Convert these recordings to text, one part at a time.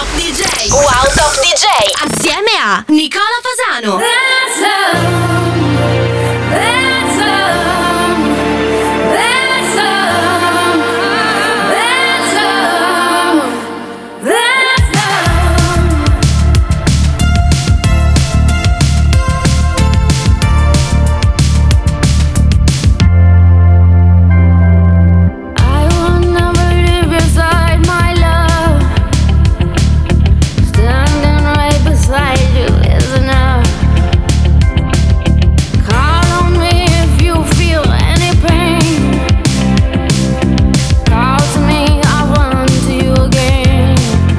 Top DJ. Wow Top DJ. Assieme a Nicola Fasano. That's love. That's love. That's love. That's love. That's love. I will never live beside my love. Standing right beside you is enough. Call on me if you feel any pain. Call to me, I'll run to you again.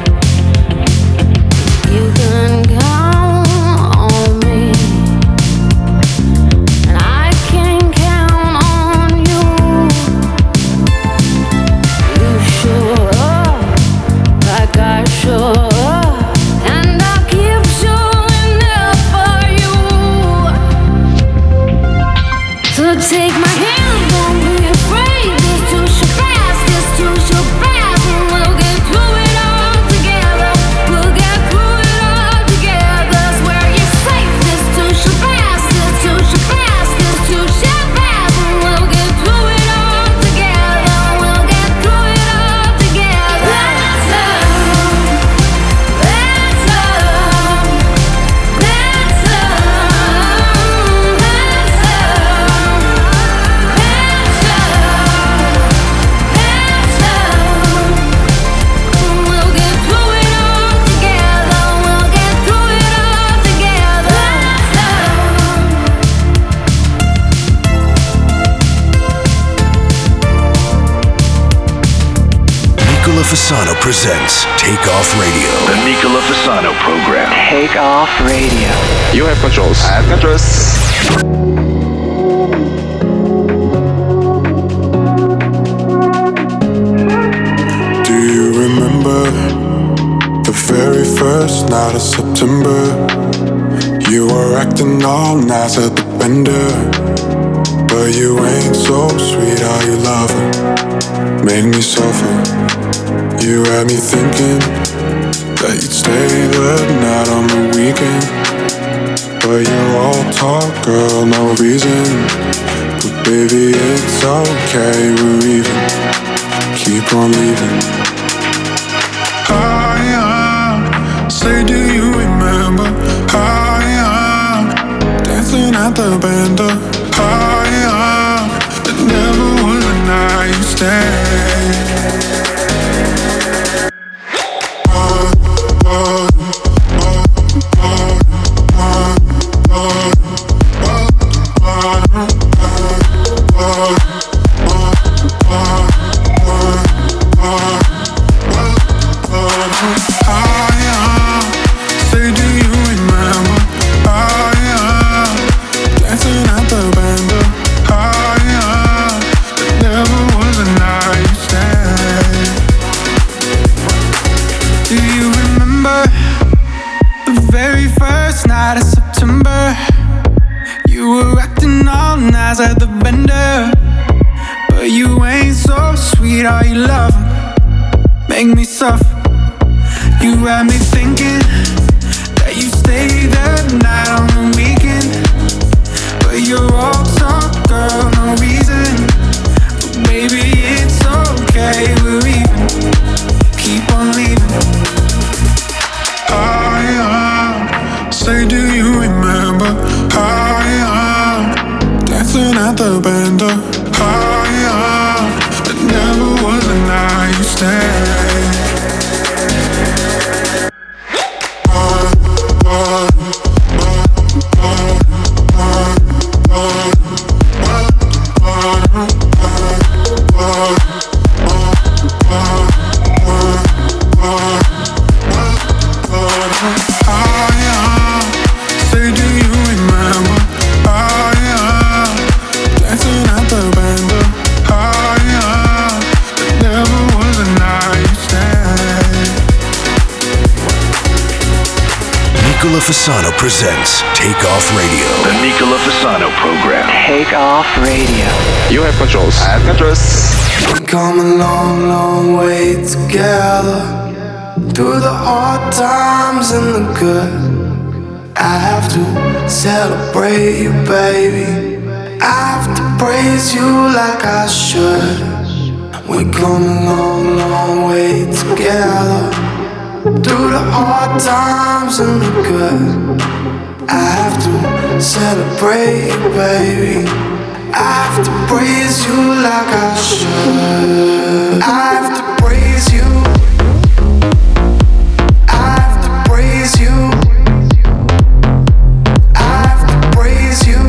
You can count on me, and I can count on you. You show up like I show up, and I'll keep showing up for you. So take my hand, don't be afraid. This too shall pass, this too shall pass, and we'll get through it all together. We'll get through it all together. Swear you're safe. This too shall pass, this too shall pass, this too shall pass, and we'll get through it all together. We'll get through it all together. That's love. That's love. That's love. That's love. That's love. We'll get through it all together. We'll get through it all together. That's Nicola Fasano presents Take Off Radio. The Nicola Fasano program. Take Off Radio. You have controls. I have controls. Do you remember the very first night of September? You were acting all nice at the bender, but you ain't so sweet, are you lover? Made me suffer. You had me thinking that you'd stay the night on the weekend, but you're all talk, girl, no reason. But baby, it's okay, we're even. Keep on leaving. Say, do you remember how dancing at the bender? How it never was a night you stay. Say, do you remember dancing at the bender? It never was a night you stay. Do you remember the very first night of September? You were acting all nice at the bender, but you ain't so sweet, are you loving? Make me suffer. You had me thinking that you stay the night on the weekend, but you're all talk, girl, no reason. But baby, it's okay, we're even. Keep on leaving. Say, do you remember dancing at the bender? It never was a night you stay. Say, do you remember dancing at the bender? It never was a night you stay. Nicola Fasano presents Take Off Radio. The Nicola Fasano program. Take Off Radio. You have controls. I have controls. We've come a long, long way together. Through the hard times and the good, I have to celebrate you, baby. I have to praise you like I should. We come a long, long way together. Through the hard times and the good, I have to celebrate you, baby. I have to praise you like I should. I have to praise you. I have to praise you. I have to praise you.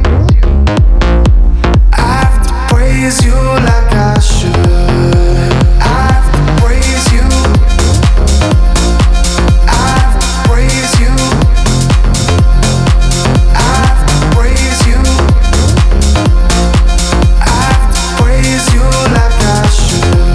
I have to praise you like I should. I have to praise you. I have to praise you. I have to praise you. I have to praise you like I should.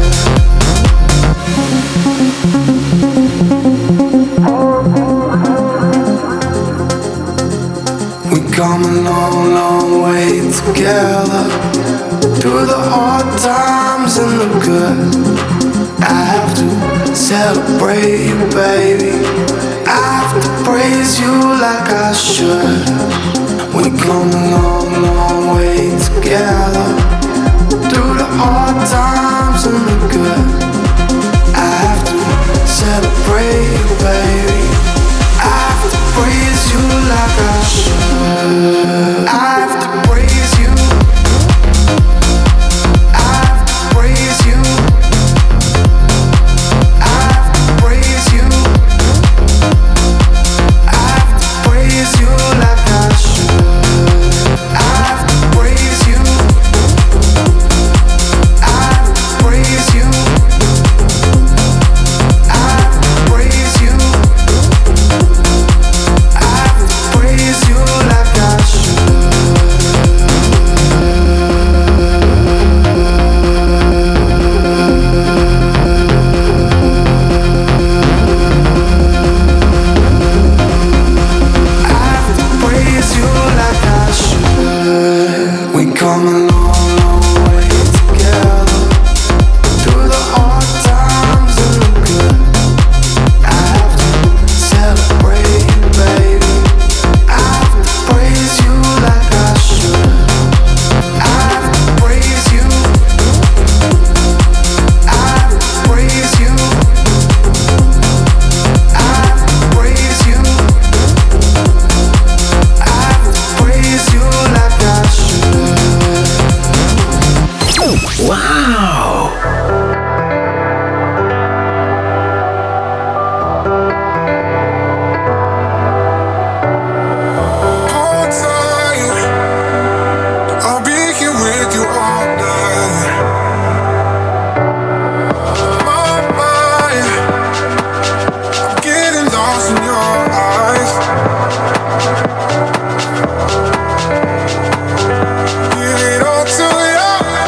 We come a long, long way together. Through the hard times and the good, I have to celebrate you, baby. I have to praise you like I should. We come a long, long way together. Through the hard times and the good, I have to celebrate you, baby. I have to praise you like I should. I have to praise you. I have to praise you. I have to praise you. I have to praise you like I should. I have to praise you. I have to praise you. I have to praise you. I have to praise you like I should. I have to praise you like I should. We come a long, long way together. Through the hard times and the good, I have to celebrate you, baby. I have to praise you like I should. I have to praise you. I have to praise you. I have to praise you. I have to praise you like I should. Wow! Hold tight, I'll be here with you all night. My mind, I'm getting lost in your eyes. Give it all to you.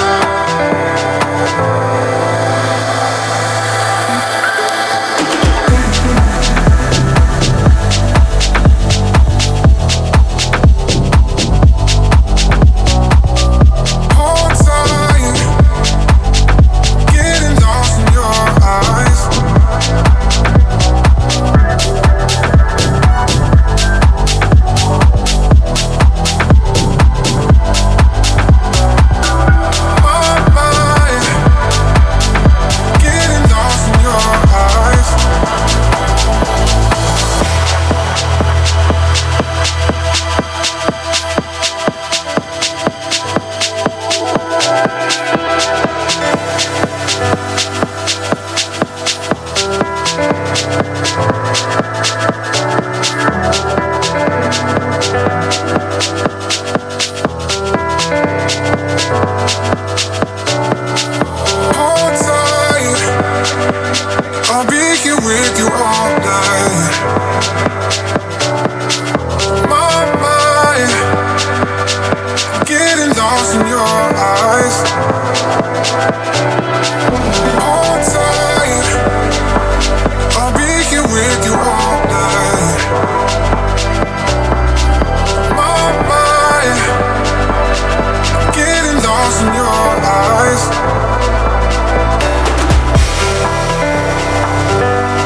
Hold tight, getting lost in your eyes. My mind, getting lost in your eyes. Hold tight, I'll be here with you all night. My mind, getting lost in your eyes. Hold tight, I'll be here with you all night. My mind, getting lost in your eyes.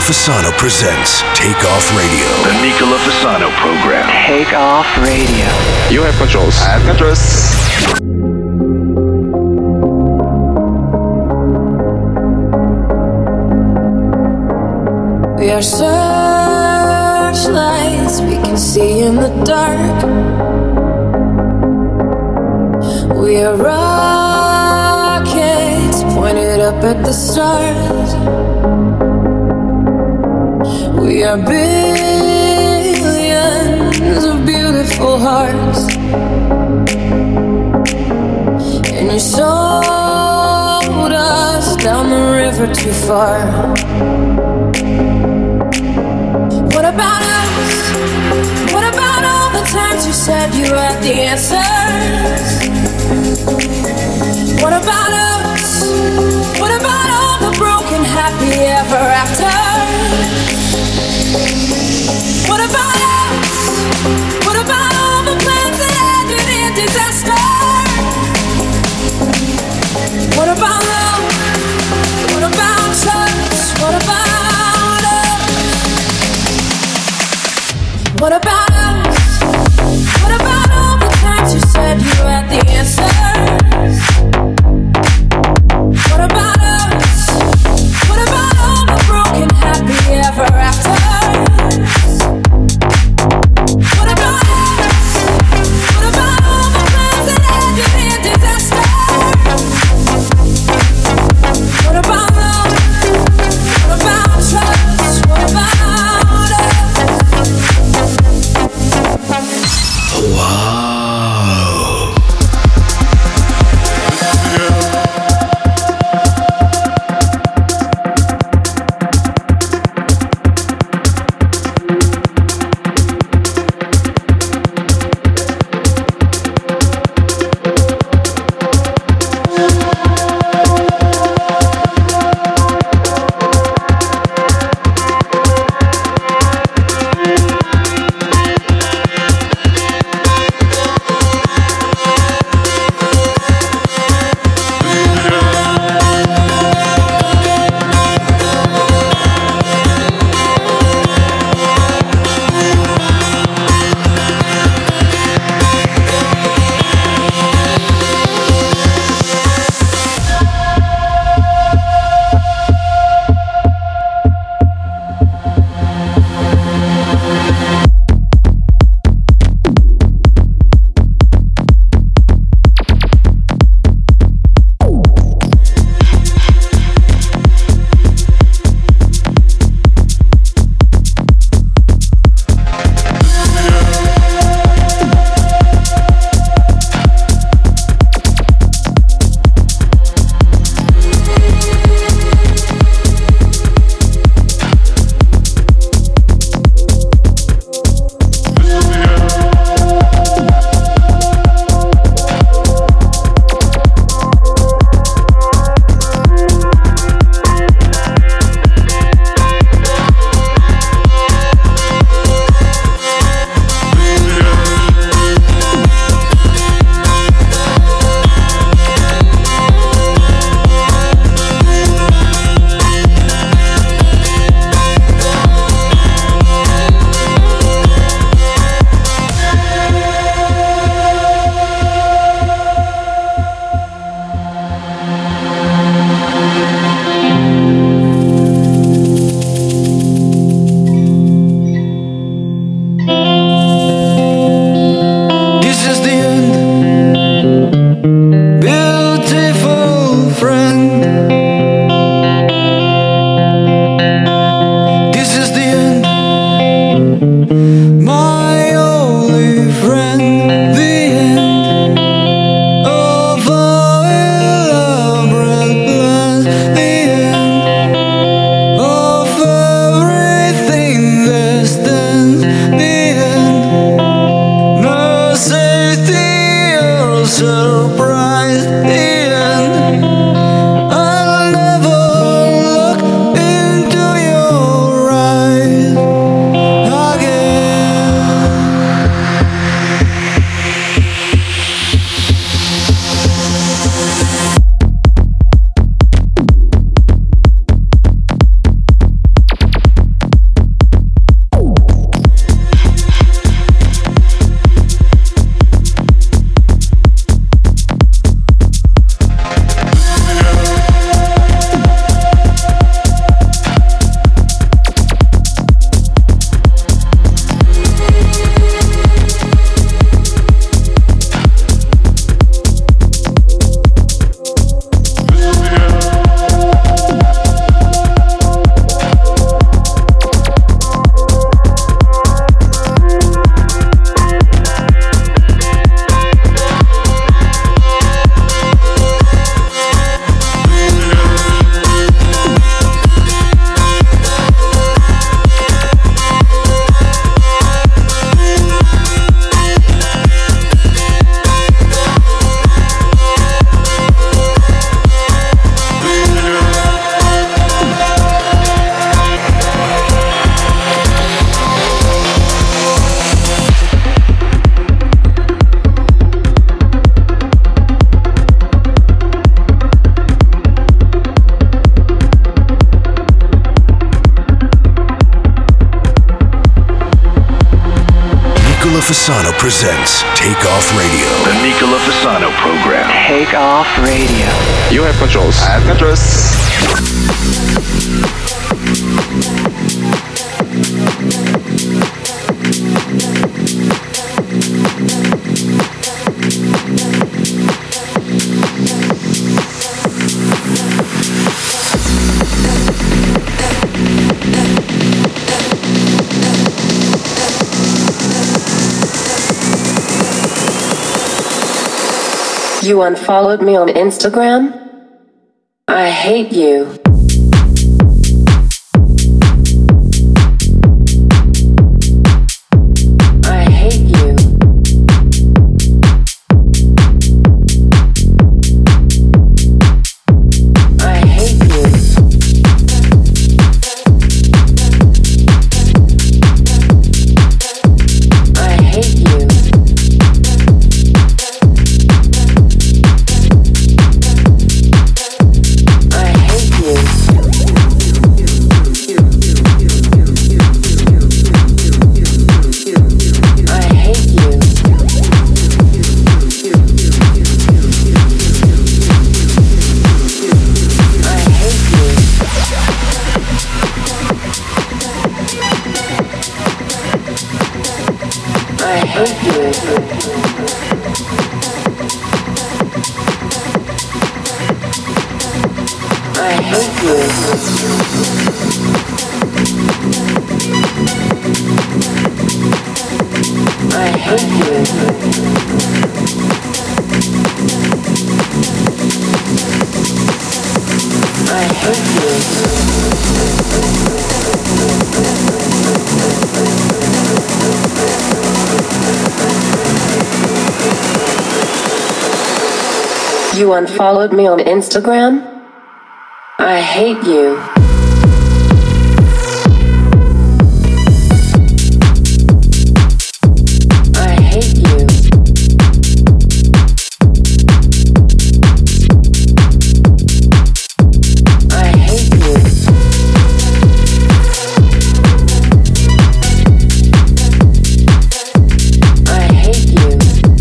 Fasano presents Take Off Radio. The Nicola Fasano program. Take Off Radio. You have controls. I have controls. We are searchlights we can see in the dark. We are rockets pointed up at the stars. We are billions of beautiful hearts. And you sold us down the river too far. What about us? What about all the times you said you had the answers? What about us? What about all the broken happy ever after? What about us? What about all the plans that ended in disaster? What about love? What about trust? What about us? What about us? What about all the times you said you had the answers? Fasano presents Take Off Radio. The Nicola Fasano program. Take Off Radio. You have controls. I have controls. You unfollowed me on Instagram? I hate you. I hate you. I hate you. I hate you. You unfollowed me on Instagram? I hate you. I hate you. I hate you. I hate you.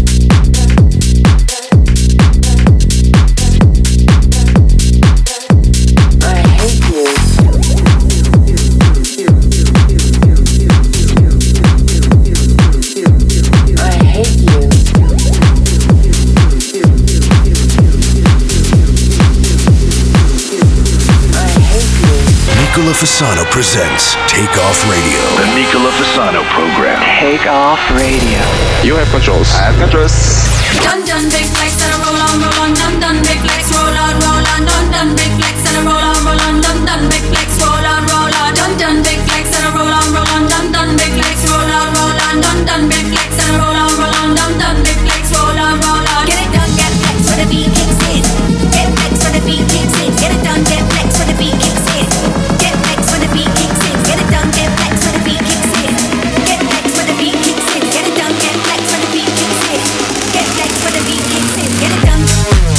Nicola Fasano presents Take Off Radio. The Nicola Fasano program. Take Off Radio. You have controls. I have controls. Done done big flex and a roll on, done done big flex, roll on, done done big flex and a roll on, done done big flex, roll on, done done big flex and a roll on, done done big flex, roll on, done done big flex and a roll on, done done big flex, roll on. Get it done, get flex when the beat kicks in. Get flex when the beat kicks in. Get it done, get flex when the beat kicks in. Get flex when the beat kicks in. Get it done, get flex when the beat kicks in. Get flex when the beat kicks in. Get it done, get flex when the beat kicks in. Get flex when the beat kicks in. Get it done.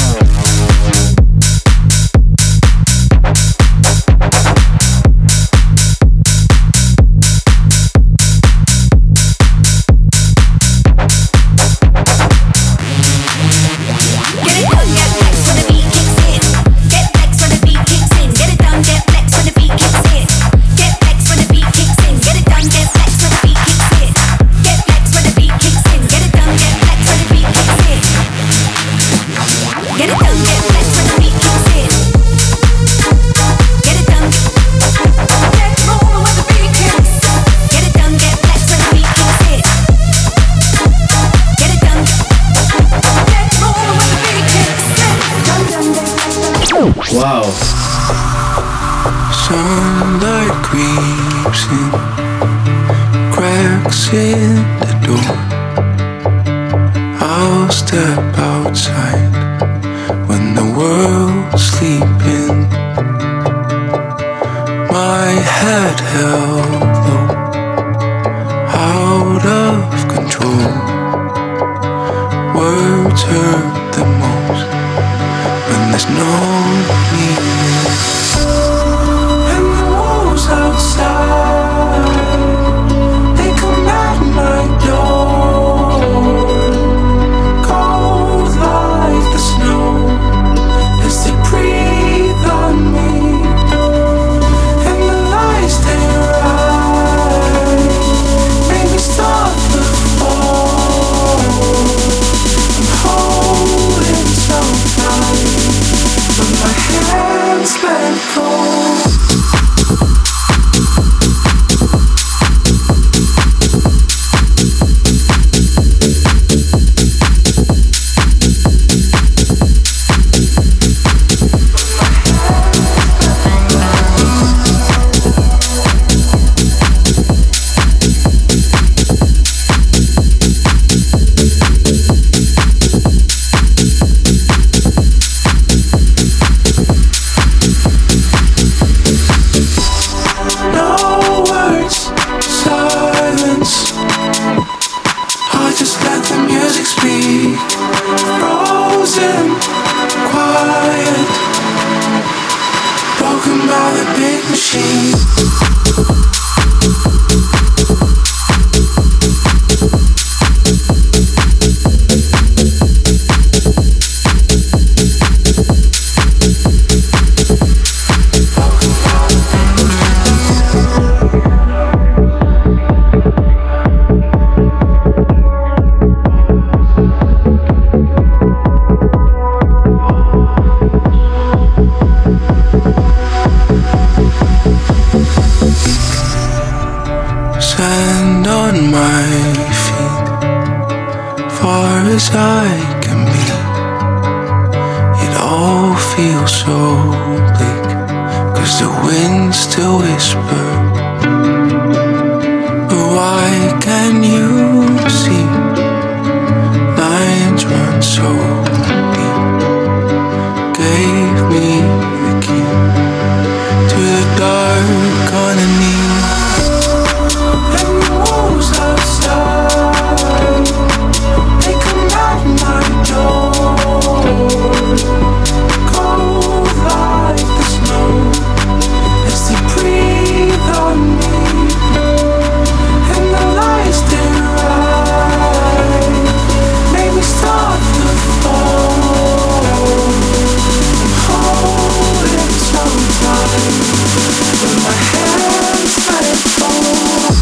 Wow. Sunlight creeps in, cracks in the door. I'll step outside when the world's sleeping. My head held low, out of control. Words hurt the most when there's no meaning. And the walls outside, they come at my door. machine. Sand on my feet, far as I can be. It all feels so bleak, 'cause the winds still whisper. But why can you see lines run so deep? Gave me the key to the dark underneath. Outside, they come out my door, cold like the snow as they breathe on me, and the lights they ride make me stop the fall. I'm holding so tight, but my hands let fall.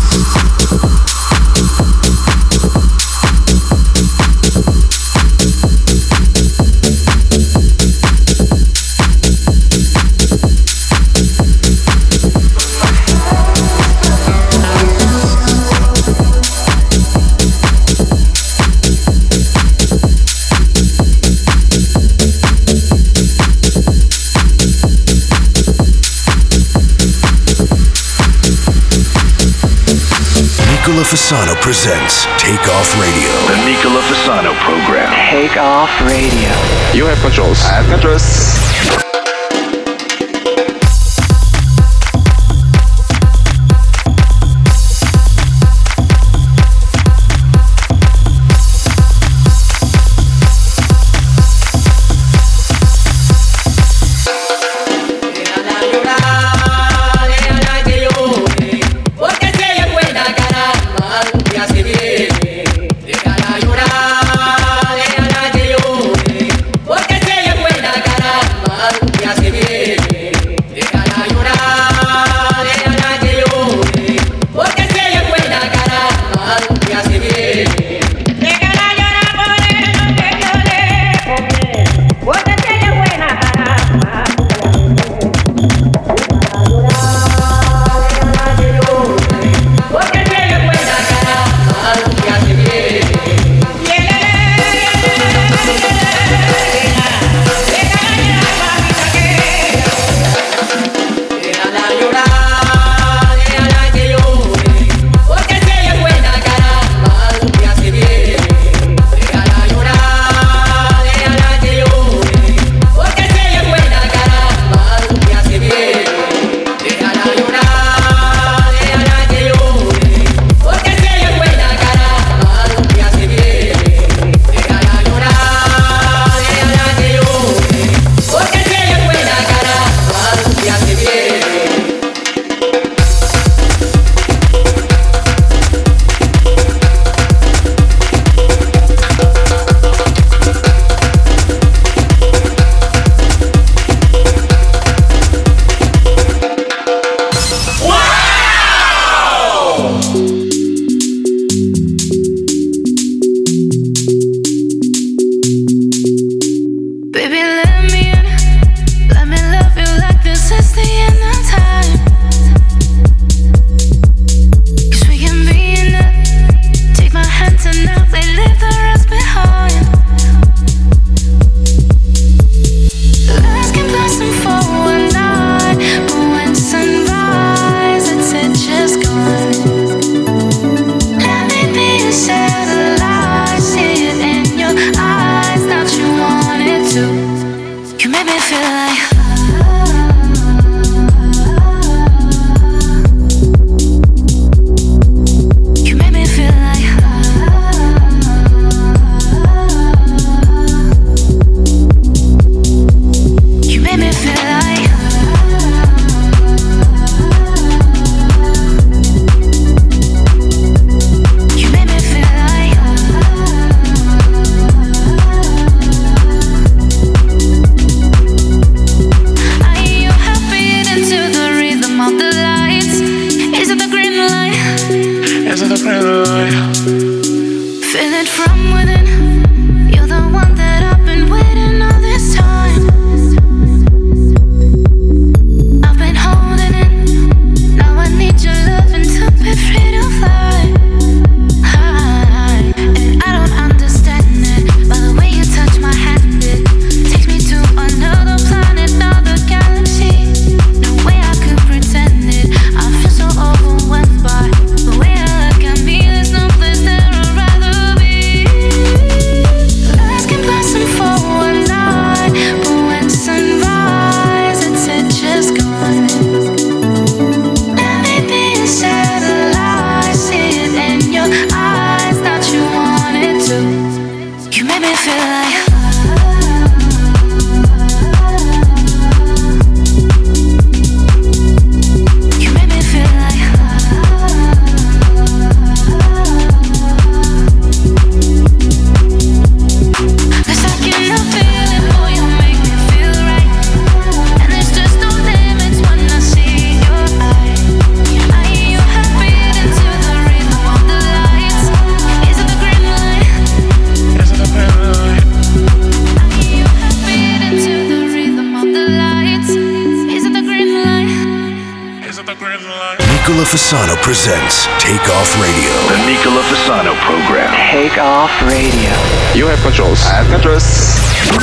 Nicola Fasano presents Take Off Radio. The Nicola Fasano program. Take Off Radio. You have controls. I have controls. Nicola Fasano presents Take Off Radio. The Nicola Fasano program. Take Off Radio. You have controls. I have controls.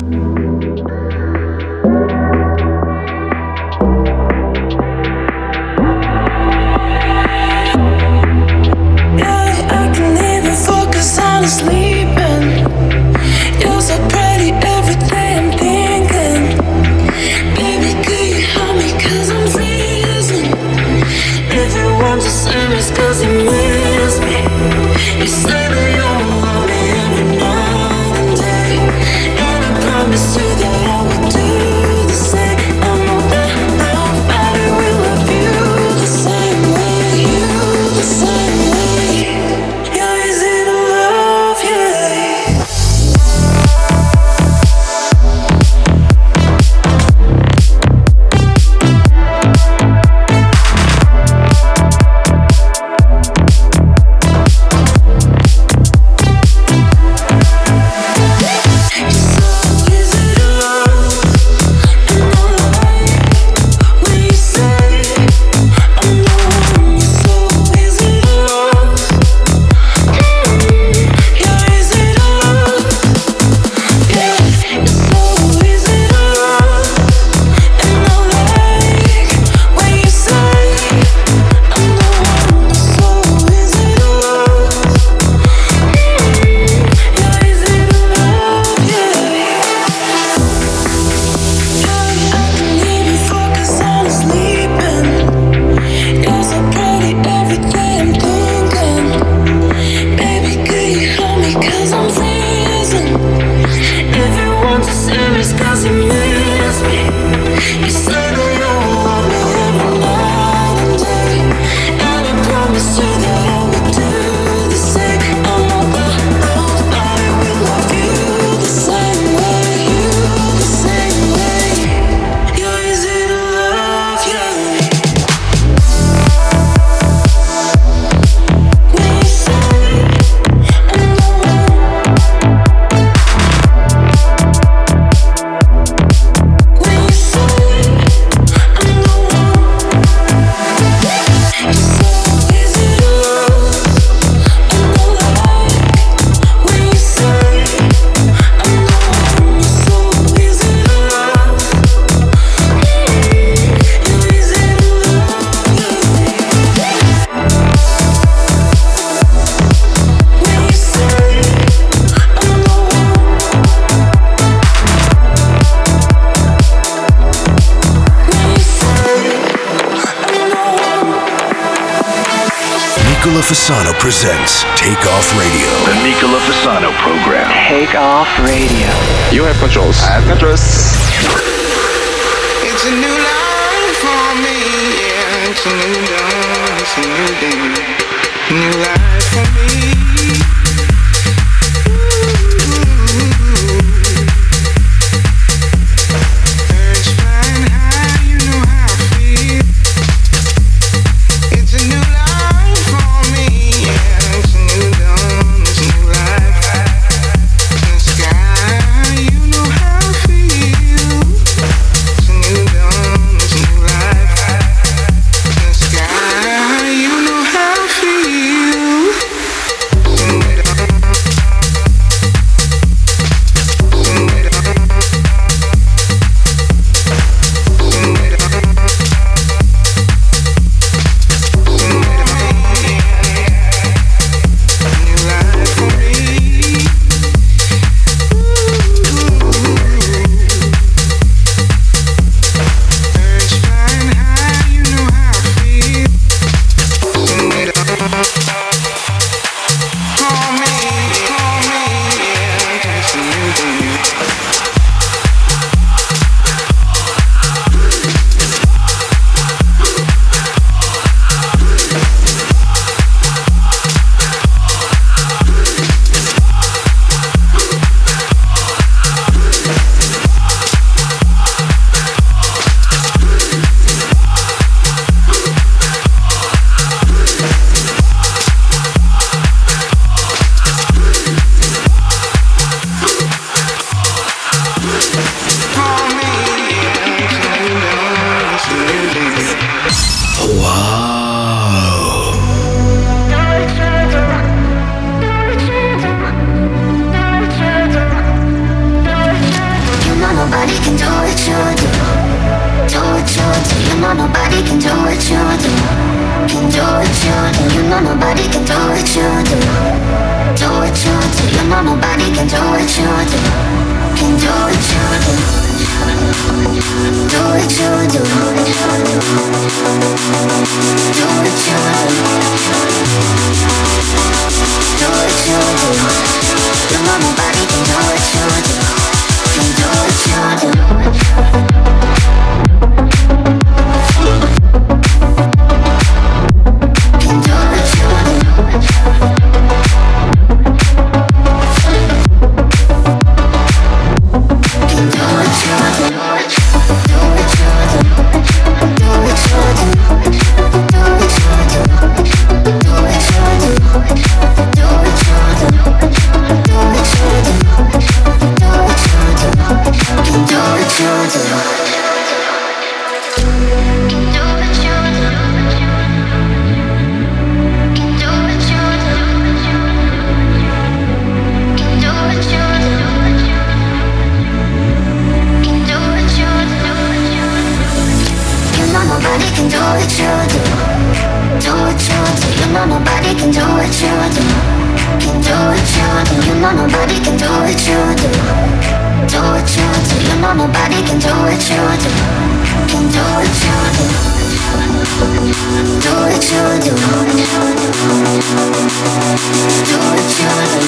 Sleeping, you're so pretty every day I'm thinking, baby, could you help me cause I'm freezing. Everyone's the same as cause you miss me. You say that you don't love me every night and day, and I promise you that I will do the same. I know that nobody will love you the same way, you the same way. You're easy to love, yeah. Nicola Fasano presents Take Off Radio. The Nicola Fasano program. Take Off Radio. You have controls. I have controls. It's a new life for me, yeah. It's a new dawn, it's a new day. New life for me. Birds flying high, you know how I feel. It's a new life for me, yeah. It's a new dawn, it's a new life. In the sky, you know how I feel. do what you do. Do what you do. You know nobody can do what you do. Can do what you do. You know nobody can do what you do. Do what you do. You know nobody can do what you do. Can do what you do. Do what you do. Do what you do. Do what you do. You know nobody can do what you do. Can do what you do. Can do what you do. Can do what you do. Do what you do. Do what you do. Do what you do. Do what you do. Do what you do. Do what you do. Do what you do. Can do what you do. Can do what you do. Can do what you do. Can do what you do. Can do what you do. You know nobody can do what you do. Do what you do. You know nobody can do what you do. Can do what you do. You know nobody can do what you do. Do what you do. You know nobody can do what you do. Can do what you do. Do what you do. Do what you do.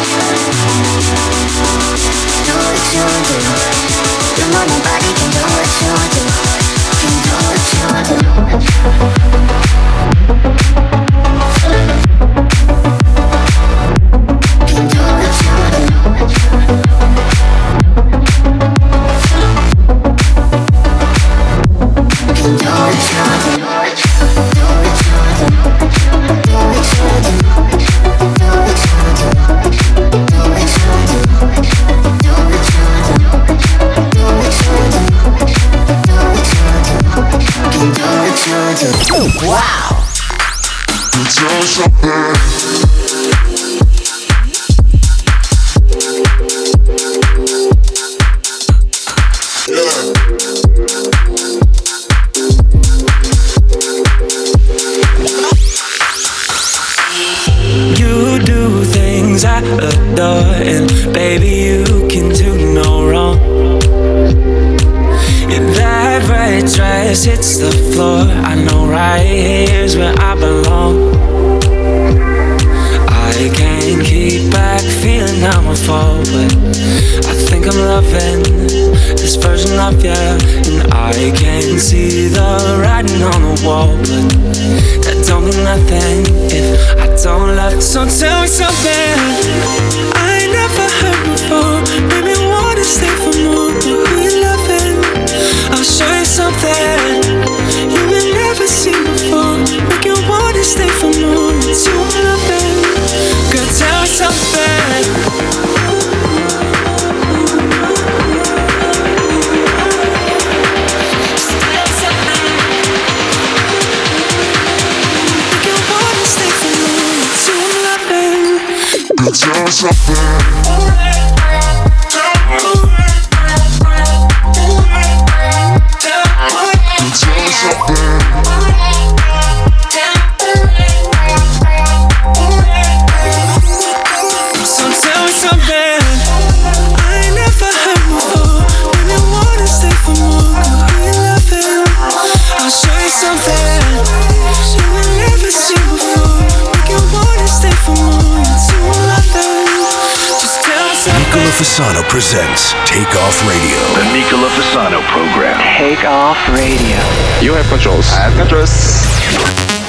Do what you do. You know nobody can do what you do. Can do what you do. Can do what you do. Can do what you do. Do what you do. Do what you do. Do what you do. Do what you do. Do what you do. Do what you do. Do what you do. Can do what you do. Wow. You do things I adore, and baby, you can do no wrong. And that red dress hits the floor. I know right here's where I belong. I can't keep back feeling I'm a fall, but I think I'm loving this version of you. And I can see the writing on the wall, but that don't mean nothing if I don't love it. So tell me something I ain't never heard before. Maybe wanna stay for more, but who you loving? I'll show you something you will never see before. Make you wanna stay for more. It's you I'm loving. Girl, tell me something. Tell something. Fasano presents Take Off Radio. The Nicola Fasano program. Take Off Radio. You have controls. I have controls.